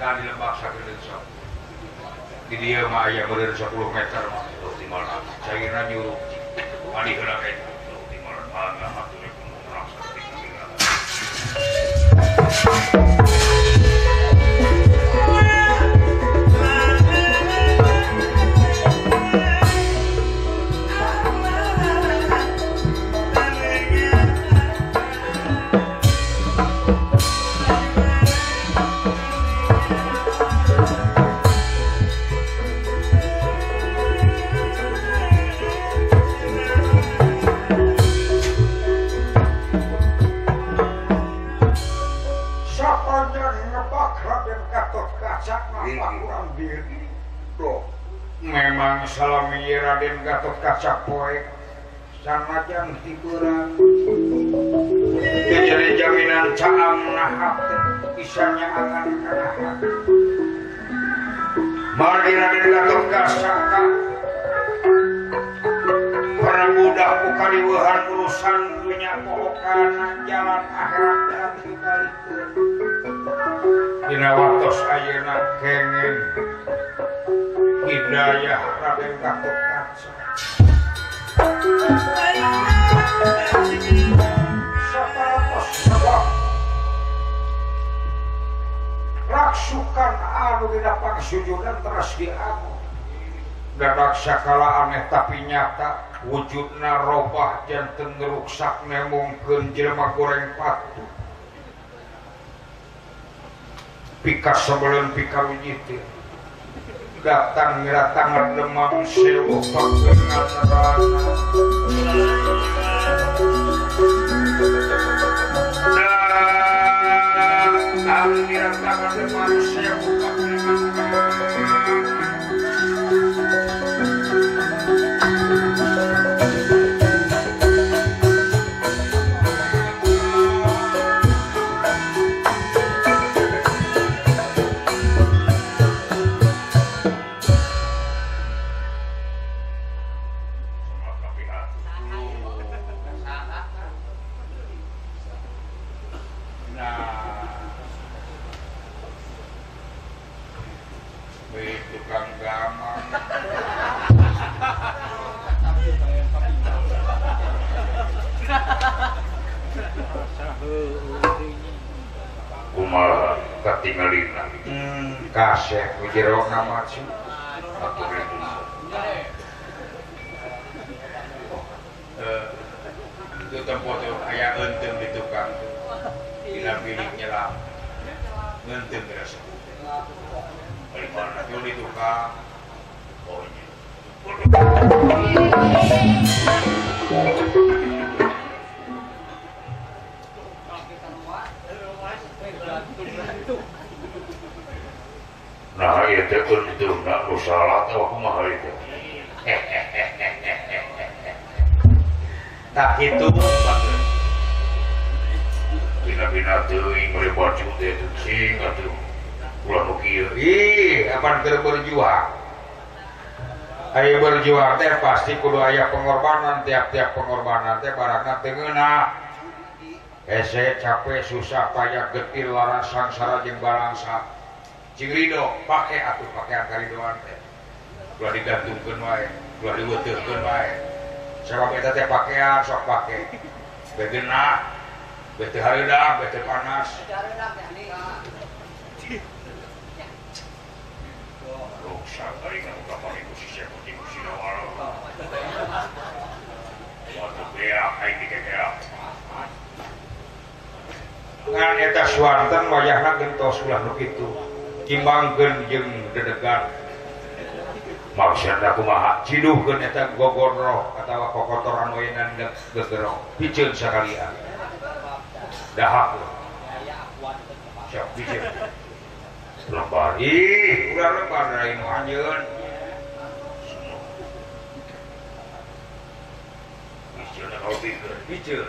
kan di lembah sakieu sok. Di dieu mah aya beureur 10 meter mah terus di mana cairna nyuruh. Mandi heula kae terus di mana mangga hatur kurang sakieu. Memang salami Raden Gatot Kaca poe sanajan hiburan jadi jaminan caang nahap isanya angan kanahan mari Raden Gatot Kaca para budak kukaliweuhan urusan dunya pohokana jalan akhirat dan dibalikeun dina waktos ayeuna kenging hidayah Raden Gatot Kaca sapatos sabab raksukan anu dina pangsujudan teras diamu dadak sakala aneh tapi nyata wujudna robah janten ngeruksak nemongkeun jelema goreng patu pika sebelum pika wijitin datang ngiratangan demam sewu pakengan rana datang ngiratangan demam sewu pakengan rana kumaha katingalina kasih ujero nama sih atur itu tempat itu aya eunteuh di tukang dina bilik nyelam ngeunteuh berasa balik mana itu di tukang ohnya nah iya teh untung nak nu salah teh kumaha itu tak kitu bina-bina teuing mere baju teh cing atuh ulah nu kieu ih apan keur berjuang aya berjuang teh pasti kudu aya pengorbanan tiap-tiap pengorbanan teh barangna teu ngeunah hese capek susah payah getir lara sangsara jeung balangsa cing ridho pake atuh pakean karidoan teh ulah digantungkeun wae ulah diweuteuhkeun wae sabab eta teh pakean sok pake begeunah bete hareudak bete panas rusak ari ka pake ku si sepo di ku sinawal waktu beak ai dikekeak ngan eta suanten wayahna gentos ulah nu kitu kimbangkeun jeung dedegan maksudna kumaha ciduhkeun eta gogor roh atawa kokotoran wayanan gegerong piceun sakalian dahak siap piceun lebar ih ulah lebar dari nu anjeun piceun kalau piceun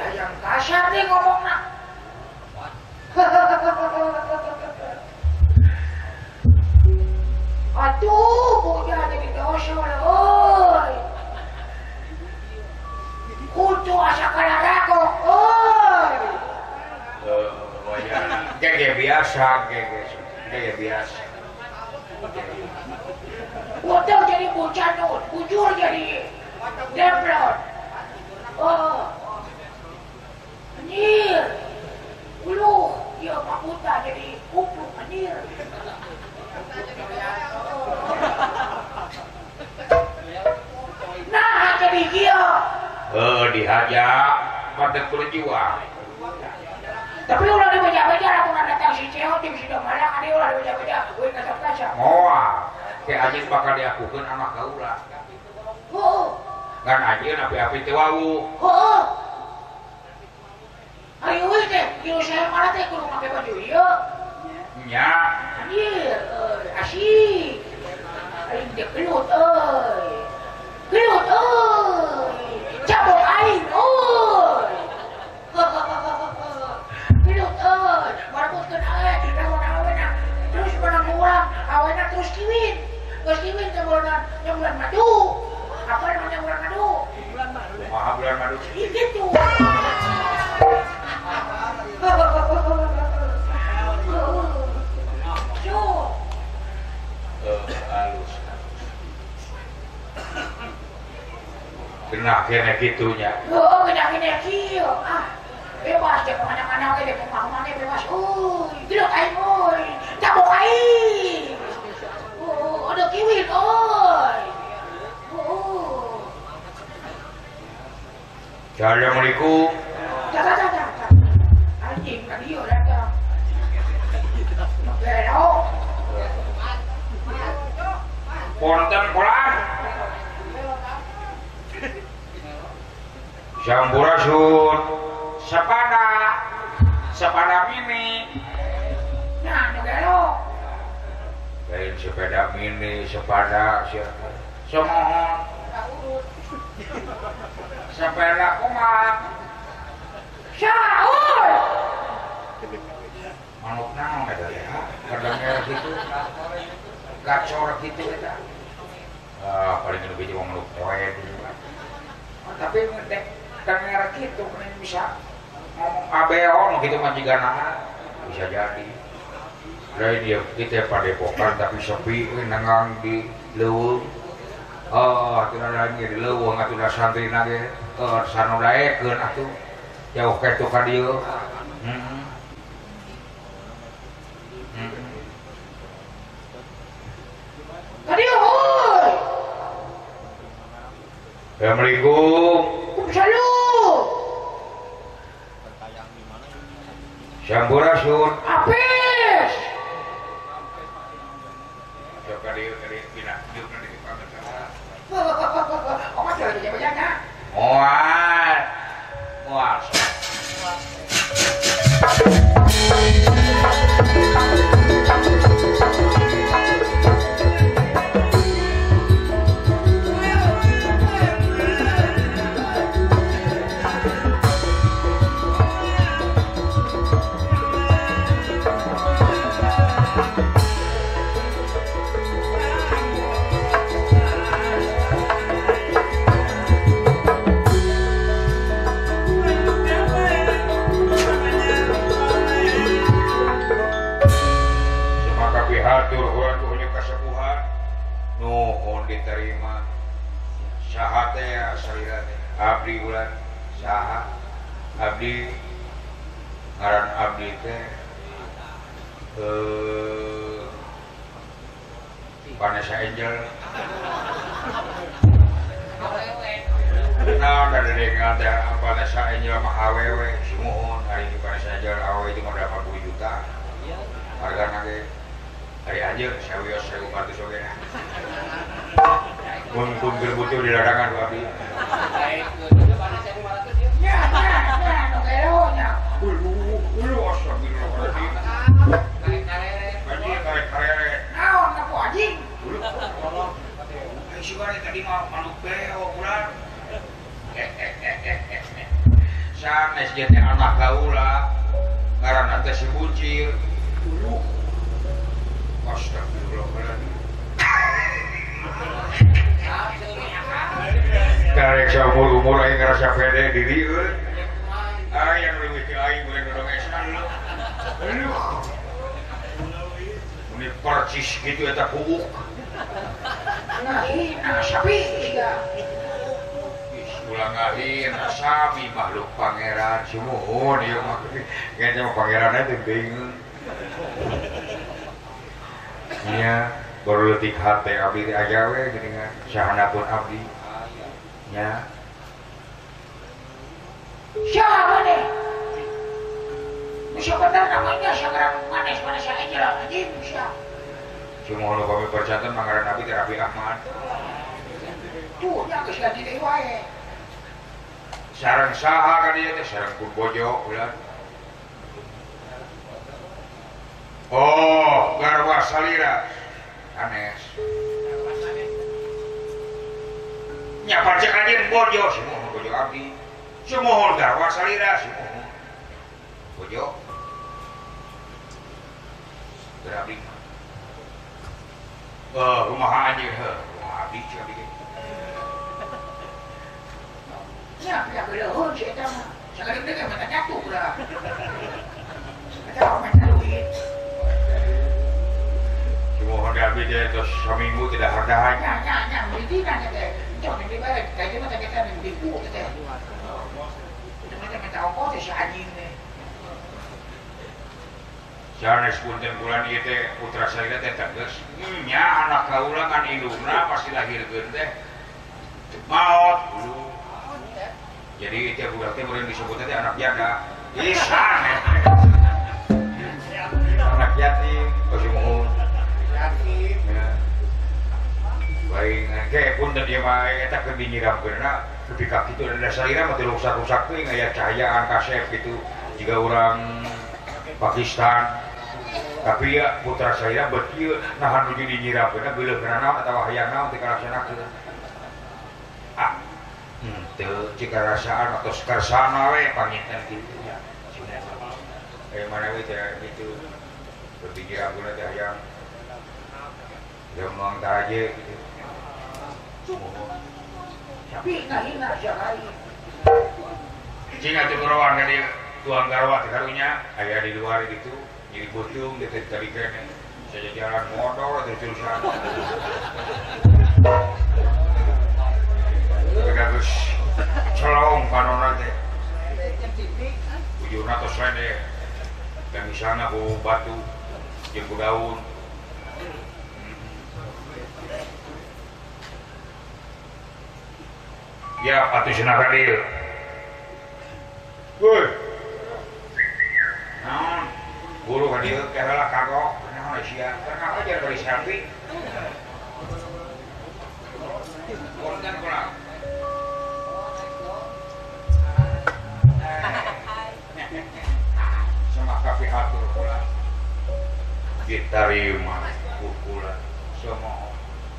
hayang kasar nih ngomongna. Aduh, punya jadi dosa oi. Kudu asa kalarako, oi. Kayak biasa, kayak biasa. Waduh jadi bocah nun, bujur jadi demplon. Oh, anjir. Uluh, dia makuta jadi kupluk anjir. Nah, jadi dia. Dihajar, pada berjuang. Tapi ulah dibaca-baca lah pun datang si Ceo tim si Domala kan dia ulah dibaca-baca gue kasar-kasar. Moal, kayak anjing bakal diakukan anak kaulah. Kan anjing api-api teh wau. Ayo weh teh, kilo saya mana teh kudu make baju ieu. Nya. Anjir, asik. Aing teh gelut euy. Gelut euy. Cabut aing euy. Gelut euy. Marbutkeun ae, naon awena. Terus menang urang, awena terus kiwin. Geus kiwin teh bulan madu. Apa namanya bulan madu? Bulan madu. Maha bulan madu. Gitu. Halus. Kena kena gitunya. Oh, kena kieu. Bebas deh kemana-mana oke deh, kemana-mana bebas. Gila aing euy. Cabok aing. Ada kiwin euy. Assalamualaikum. Anjing tadi yo datang. Pero Ponten kolan. Sampurasun. Sepeda mini. nah, negero. Lain sepeda mini, sepeda siapa? Semohon. Sepeda kumat. Saur. Manuk naon eta ya? Kadangnya gitu. Gacor gitu eta. Paling lebih cuma manuk poe gitu. Tapi ngedek kamera gitu kan bisa ngomong abeo gitu mah jigana bisa jadi. Dari dia kita padepokan tapi sepi nengang di leuweung. Aturan lagi di leuweung aturan santri nage sanu daekeun atuh. Jauh kitu ka dieu. Tadi euy. Assalamualaikum. Salam. Sampurasun. Apes. Coba dieu pindah dieu nanti pamit. Omat lagi jaga-jaga. Moal. Diterima syahatnya ya salirane abdi bulan saha abdi ngaran abdi teh Vanessa Angel nah dari dengan Vanessa Angel mah awewe si muhun hari ini Vanessa Angel awewe itu mau 80 juta harga nage hari aja saya wios saya bantu soge Mun berbutuh di larangan babi. Ya, nogeronya. Ulu astagfirullahaladzim. Karek. Naon kamu anjing? Si bari tadi mah manuk beo bulan. Sana SJT anak kaula ngaranna teh si Bucir. Astagfirullahaladzim. Karek saumur-umur aing ngerasa pede diri euy. Yang leuwih ti aing boleh dodongesan lu. Ini percis gitu eta kuuk. Nah, sapi ya. Ulang ngahina sami makhluk pangeran sumuhun ieu mah. Kayaknya mah pangeranna teh bingung. Nya baru leutik hate abdi teh aja we geuningan sahanapun abdi. Nya Siapa nih? Bisa benar namanya sekarang manis-manis aja lah, anjing siapa? sumuhun kami percanten mangaran abdi teh Rabi Ahmad. Tuh, yang geus ganti deui wae. Sareng saha ka dieu teh sareng Purbojo ulah. Oh, garwa salira. Anes. Nya pacek ajeun bojo sumuhun bojo abdi. Sumuhun garwa salira sumuhun. Bojo. Berabdi. Rumah aja rumah abdi cik abdi. Ya, ya geleuheun si eta mah. Sakadeu teh mah nyatu ulah. Eta orang main duit. Sumuhun abdi teh tos saminggu tidak hardahan. Ya, beli kan teh. Cok di balik, kayak mah teh kita di buku teh. Udah minta ongkos si anjing teh. Sanes punten bulan ieu teh putra salira teh tegas. Nya anak kaula kan indungna pasti lahirkeun teh maot dulu. Jadi itu budak teh meureun disebutna teh anak janda. Isan. Anak yatim, sumuhun. Yatim. Ya. Baik, kayak punten dia mah eta keur dinyiramkeunna ketika kitu ada salira mah teu rusak-rusak teuing aya cahayaan kasep gitu. Jika orang Pakistan tapi ya putra saya berkieu nahan nuju dinyiramkeunna geuleuhna naon atawa hayang naon teu kalaksanakeun. Teu cika rasaan atau skarsana we panginten kitu nya. Mana we teh kitu dinyiramkeunna teh hayang gampang tah aja gitu. Tapi ngahina sekali. Cing atuh kurawan ka dieu tuang garwa teh karunya aya di luar gitu. Jadi bocung dia tadi kene saya jalan motor terusan bagus celong panona teh ujurna tos lede dan di sana ku batu jeung ku daun ya atuh cenah ka dieu woi naon guru ka dieu teh heula kagok naon sia karena ajar bari selfie konten kurang sama kafe hatur pula ditarima pula semua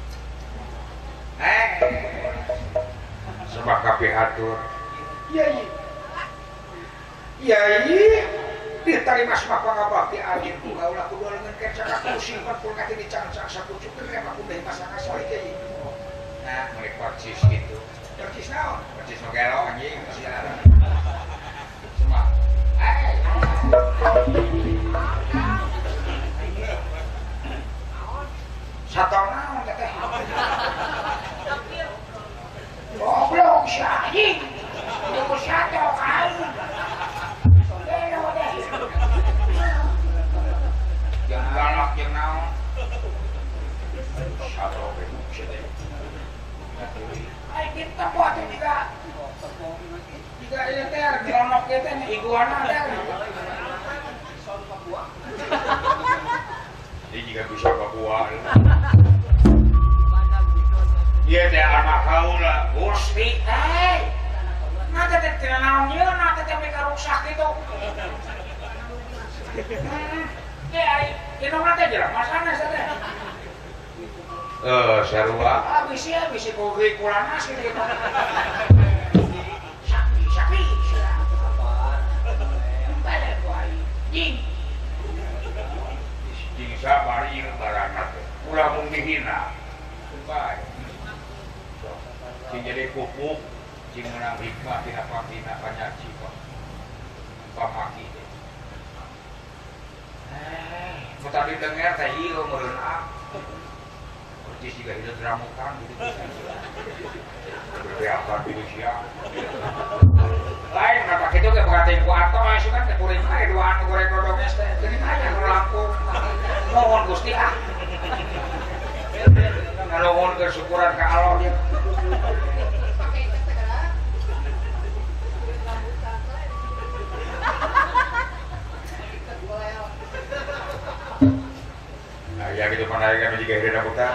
sama kafe hatur iya diterima sama pangabakti anjing kaulah kudu leungeun kenca ka kursi pun kate dicangcang sapucuk teh mah kudu pasang asoli teh nah mereka percis gitu percis naon percis nu gelo anjing sia semua satong naon teh goblok si anjing ku satong kain yang galak yang naon satu begitu sih ai kita buat juga ini teh gelonok kita nih iguana ada ini juga bisa Papua iya teh anak kaula Gusti nanti teh tina naon ieu nanti teh mereka rusak gitu ini orang teh jelas masana teh. Sarua. Bisi kuwi kulana sih gitu. Sapi. hina baik sing jadi pupuk sing menang hikmah tina patina panyaci pamaki tadi dengar teh ieu meureun percis juga hidup ramukan gitu berapa gitu sia lain kenapa gitu ke pengatin ku atau masuk kan ke kuring ae duaan goreng dodongnya teh geuning aja nu lampung nuhun Gusti nuhun kesyukuran ka Allah dia ya gitu pandangan juga hidup rambutan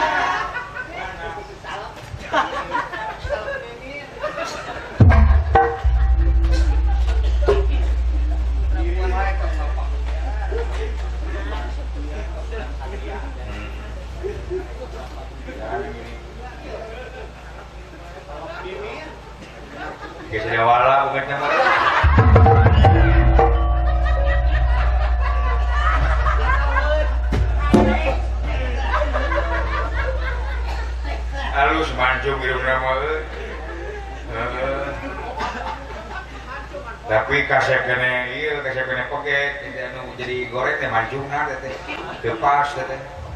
sudah wala bukannya halus mancung hidup nama tapi kasep kene iya kasep kene pokek jadi goreng teh mancung nah teh tepas teh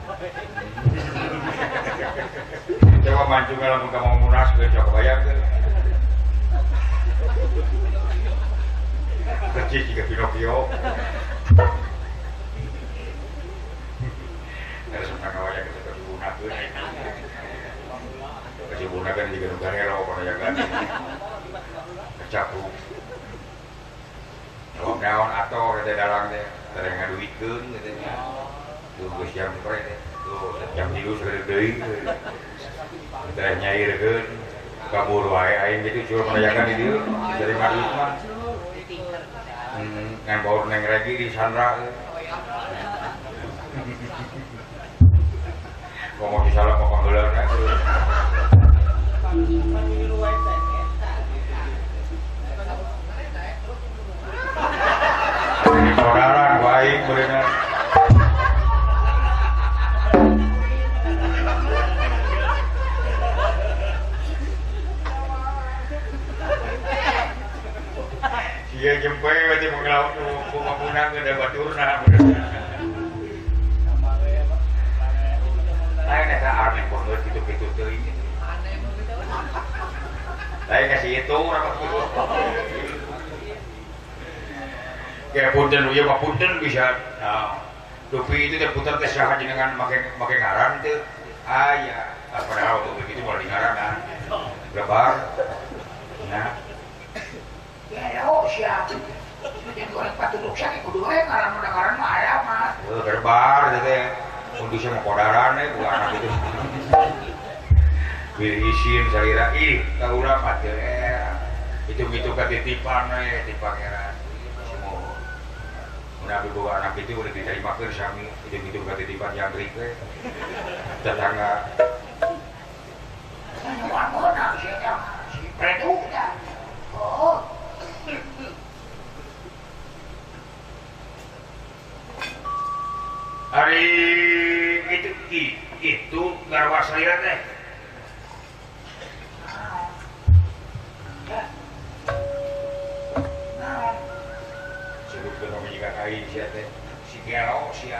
coba mancung lamun ka mau munas ge coba bayang teh percis juga Pinocchio ada sebenarnya wajah kita kesubunakeun kesubunakeun juga nu garelo kana jagan kecapu naon ator teh dalang teh teh ngaduikeun teh tuh geus jam kore teh tuh jam 3 segede deui teh nyairkeun kabur wae aing gitu cuma menayakan di dieu dari maduit mah ngan baur neng regi di Sandra ngomong di salah ngomong heulauna ini saudara baik berenang iya jempe berarti mengelaut punang ke baturna lain eta aneh banget gitu-gitu teuing lain kasih itu rapat gitu kayak punten ieu mah punten bisa nah dupi itu teh puter teh saha jenengan make ngaran teu aya padahal tuh begitu moal dingaranan lebar nah ya oh siap yang goreng patuduk sakit kudu we ngaran mah aya mah gerbar teh kondisi mah kodaran bukan anak itu pilih isin salira ih ka urang mah teu itu katitipan we di pangeran semua mun abi boga anak itu udah ditarimakeun sami itu katitipan jangkrik we tetangga mana si Preduk dah oh hari itu garwa salira teh sebut kena jika kain sia teh si gelo sia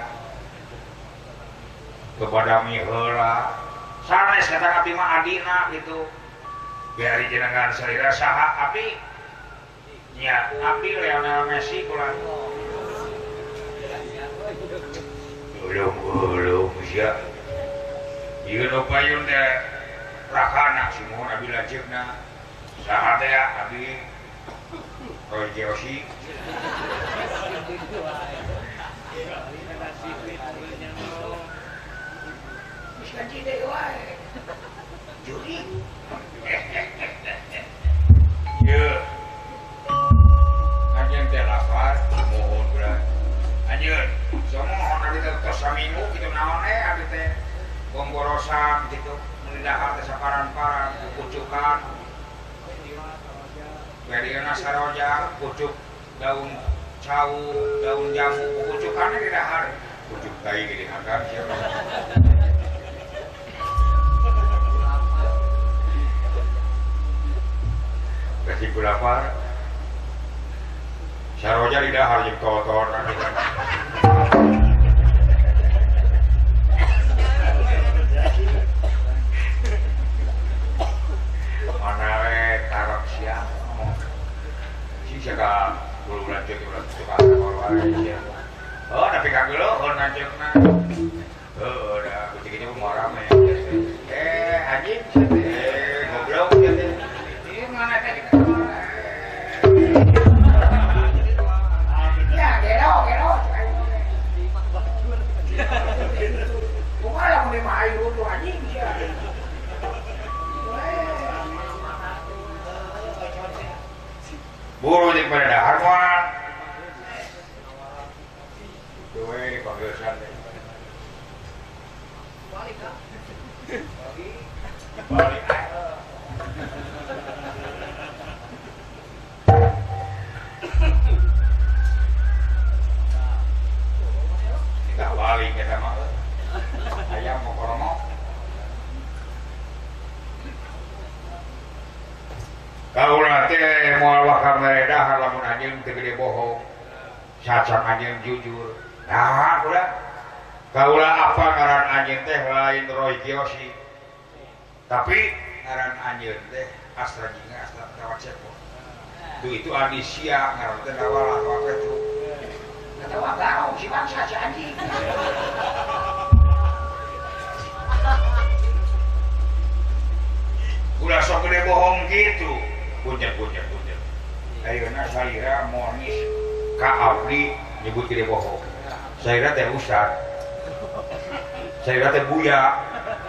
kebadami heula sanes kata abdi mah adina gitu biari jenengan salira saha abdi nya abdi Lionel Messi kula belum sia ieu nu payun teh rakana si mohon abi lanceukna saha teh abi Roy Joshi geus ganti deui wae juri ieu anjeun teh lapar mohon urang anjeun somohon abi teh tos saminggu kitu naon abi teh bonggorosan gitu melidahar teh saparan-paran kucukan Beriana saroja kucuk daun cau daun jamu kucukannya di dahar kucuk tai di dahar siapa kasih kulapar saroja di dahar jeung kotor mana we karok siang si siaka bulu lanjut ulah suka keluar oh tapi kagelo lanjutna udah kucing-kucing mau rame anjing goblok gitu ini mana tadi ya gelo bukan lah mau main dulu anjing ya buru di pada dahar mah itu dipanggil santai balik kita balik kita mah ayam mau koromo kaulah teh moal wakar meredah lamun anjeun teu gede bohong sacang anjeun jujur nah udah kaulah apa ngaran anjeun teh lain Roy Kiyoshi tapi ngaran anjeun teh Astra Jinga Astra Tawak Cepo itu Adisia ngaran teh dawalah wae itu kata wagau si bangsa si anjing udah sok gede bohong gitu punjat ayeuna salira monis ka abdi nyebut gede bohong salira teh ustad salira teh buya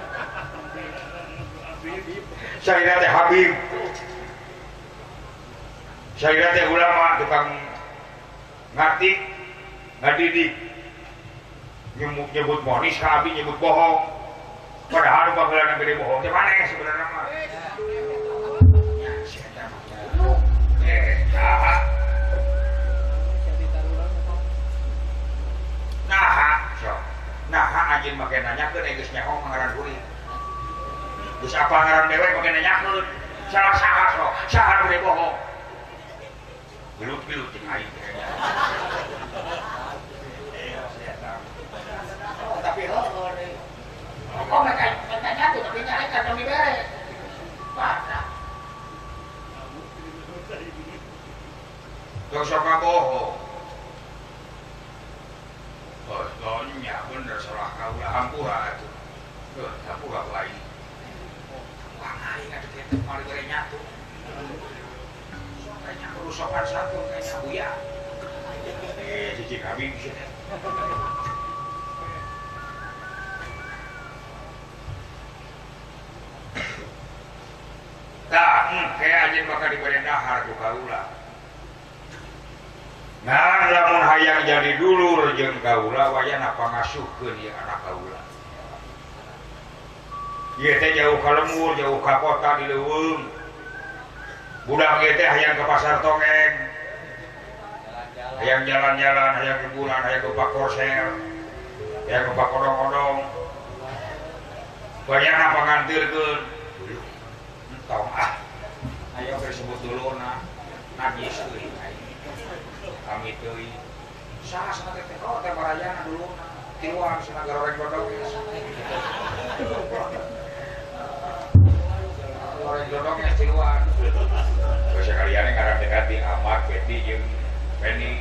salira teh habib salira teh ulama tukang ngatik ngadidik nyebut monis ka abdi nyebut bohong padahal bagelan gede bohong teh maneh sebenarnya mah nah anjing make nanyakeun geus nyaho ngaran kuring geus apa ngaran dewe make nanyakeun salah saha sok saha gede bohong gelut-gelut jeung aing tapi heuh kok mereka nyatu tapi nyalekan demi bere pada gak usah bohong oh soalnya bener salah kaulah hampura itu hampura lain wah aing ada kita kemarin bere nyatu kayaknya kerusakan satu kayaknya buya cici kami di sini kayak anjing bakal diberi dahar ku kaula nah lamun hayang jadi dulur jeung kaula wayah napa ngasuhkeun ieu anak kaula ieu teh jauh ka lembur jauh ka kota di leuweung budak ieu teh hayang ke pasar tongeng hayang jalan-jalan hayang liburan hayang ke pak korsel hayang ke pak odong-odong wayah napa ngantirkeun tong ayo disebut dulu najis euy kami teuing saha sana teh oh teh barayana dulu tiluan sana goreng godog goreng godognya tiluan geus sekalian ngaran dekati Ahmad Betty jeung Penny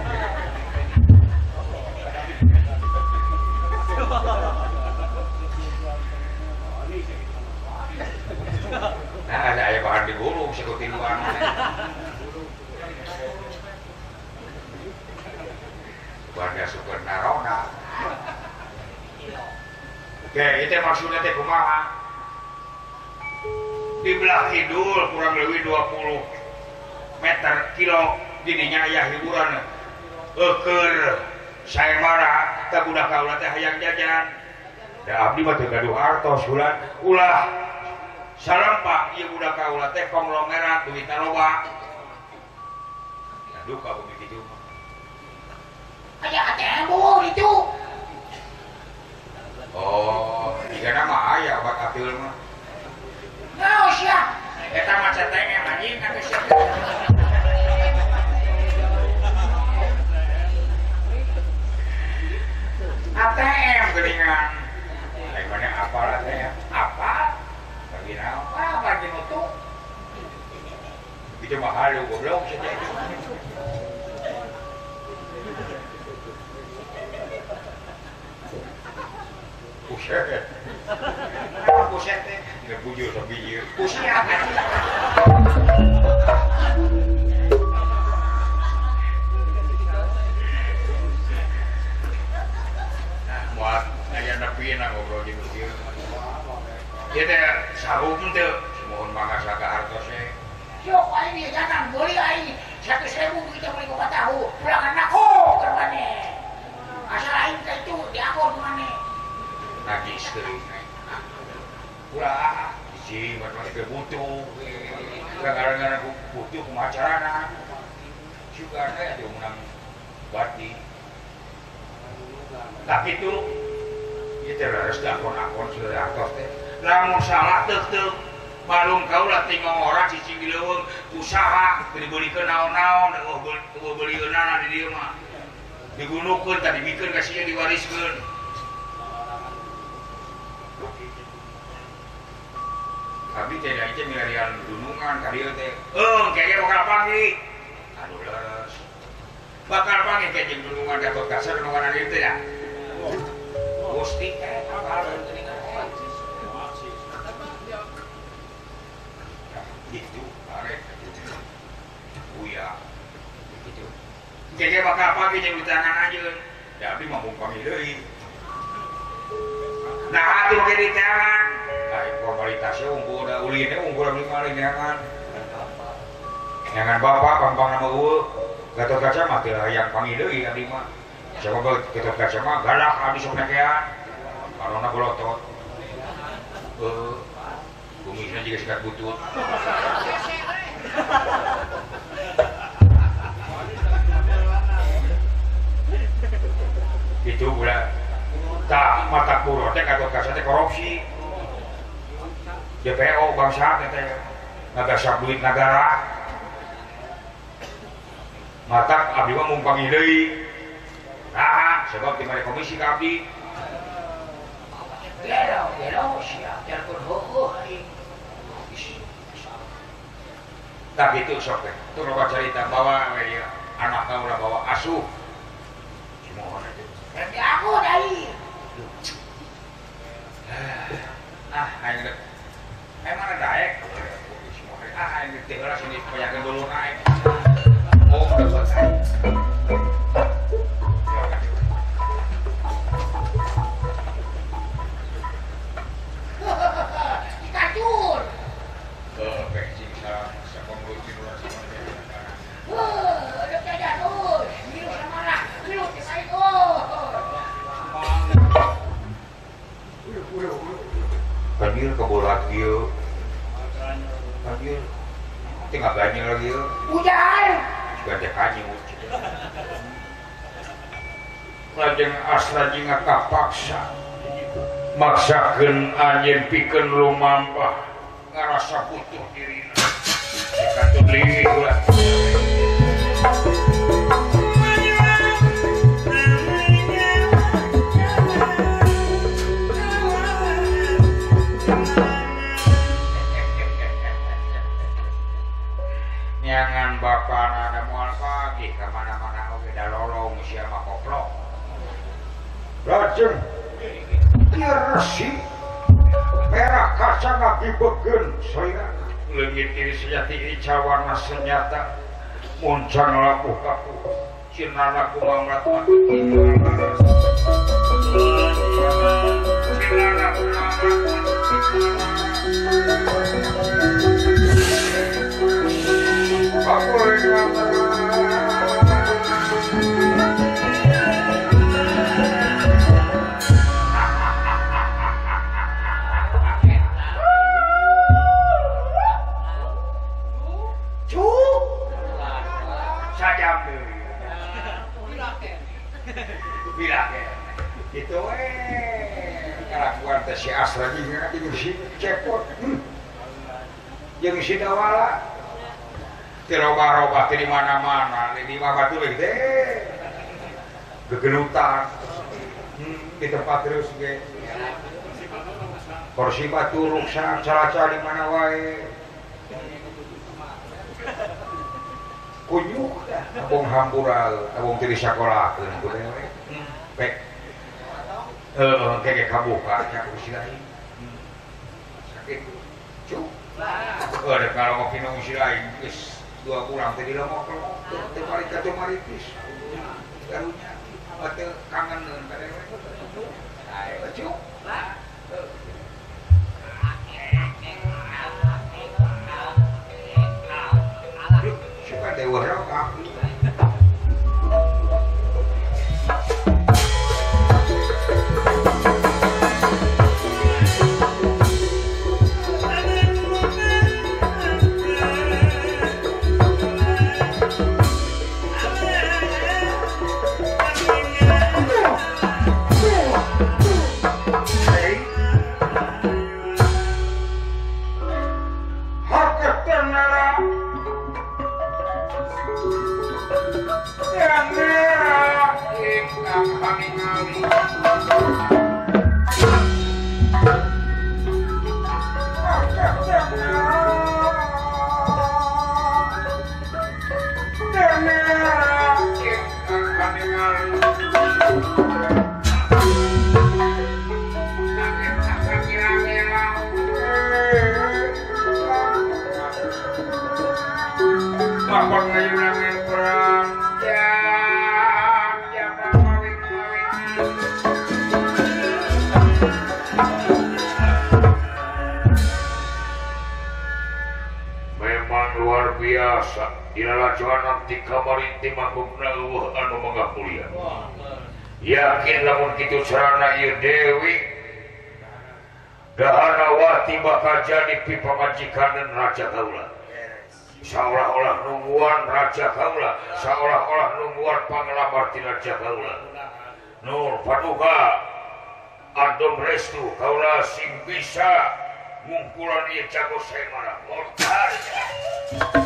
nah ada aya bahan digulung sekutin luar warga super narona oke itu maksudnya teh kumaha di belah kidul kurang lebih 20 meter kilo didinya aya hiburan keur saya marah teh budak kaula teh hayang jajan da abdi mah teu gaduh artos ulah salampa ieu budak kaula teh konglomerat duitna loba aduh ka bumi kitu aya ATM itu oh digana mah aya obat apil mah naos ya eta mah CTM anjing kan geus buset. Buset teh, tidak bujur tapi ieu. Pusiat. Muat aya nepi na ngobrol jeung ieu. Ieu teh sarum teh, mohon mangasa ka hartosna. Sok aing ieu jangan beli aing 100.000 kita beli ka tahu. Pulangan aku ke mana? Asal aing teh itu diakon mana? Najis teuing. Ulah hiji mah teh butuh. Kadang-kadang aku butuh kumacarana. Juga ada menang bati. Tapi itu ieu teh harus dakon-akon sudah atos teh. Lamun salah teu malum kaulah tinggal orang cicing di leuweung usaha dibelikeun naon-naon eueuh beulieunana di dieu mah. Digunukeun tadi dibikeun ka sieu diwariskeun. Abi teh da ieu milarian dunungan ka dieu teh. Kayaknya bakal panggih. Aduh leres. Bakal panggih ke jeung dunungan Gatot Kaca dunungan dieu teh ya. Gusti teh bakal teuningan. Gitu, arek gitu. Buya. Gitu. Kayaknya bakal panggih jeung ditangan anjeun. Da abdi mah mung panggih deui. Nah, atuh ge ditangan. Formalitasnya unggul, ulinnya unggul lebih maling nyangan. Nyangan bapak, pampang nama gue. Gatot Kaca mah tidak yang panggil deui abdi mah. Siapa Gatot Kaca mah galak abdi sok nekean. Karona bolotot. Kumisnya juga sikat butut. Itu udah tak mata puro teh Gatot Kaca teh korupsi. DPO bangsa teh ngagasap duit negara. Matak abdi mah mung panggih deui. Nah, sebab di mari komisi ka abdi. Gelo siap telepon heueuh aing. Tak gitu sok teh. Tuh loba carita bawa we ieu anak kaula bawa asuh. Cimohon aja. Berarti aku dai. Aing emang ada daek ini tinggal sini banyak dulu naik oh udah selesai dikacur bensin siapa mulut dulu udah jajan biru sama lah biru kita itu banjir kebolat gitu banjir tinggal banjir lagi hujan juga ada kanyut lajeng asra jinga kapaksa maksakeun anjeun pikeun lumampah ngarasa butuh dirina katut leuwih ulah nyangan bapana ada moal pagi kemana-mana oke dah lolong siapa koplok lajeng irsi merah kaca ngaki begen saya leungit iri sejati ica warna senyata muncang laku kaku cinana kumamrat mati cinana aku itu kelakuan teh si Asra juga si cepot yang si Dawala tiroba-roba di mana-mana di batu lagi deh gegelutan di tempat terus ge kursi batu ruksak cara-cara di mana wae kunyuk abong hambural abong tiri sekolah pek kayak kabuka nya ku si lain sakit cuk ada kalau mau kinong si lain geus 2 bulan tadi lemok teu balik ka teu maripis karunya teu kangeneun kadang ayo cuk suka dewa rokak yakin lamun kitu carana ieu Dewi Dahanawati bakal jadi pipamajikan Raja Kaula seolah-olah nungguan Raja Kaula seolah-olah nungguan panglamar ti Raja Kaula Nur paduka adom restu Kaula sing bisa ngumpulan ieu jago semana mortal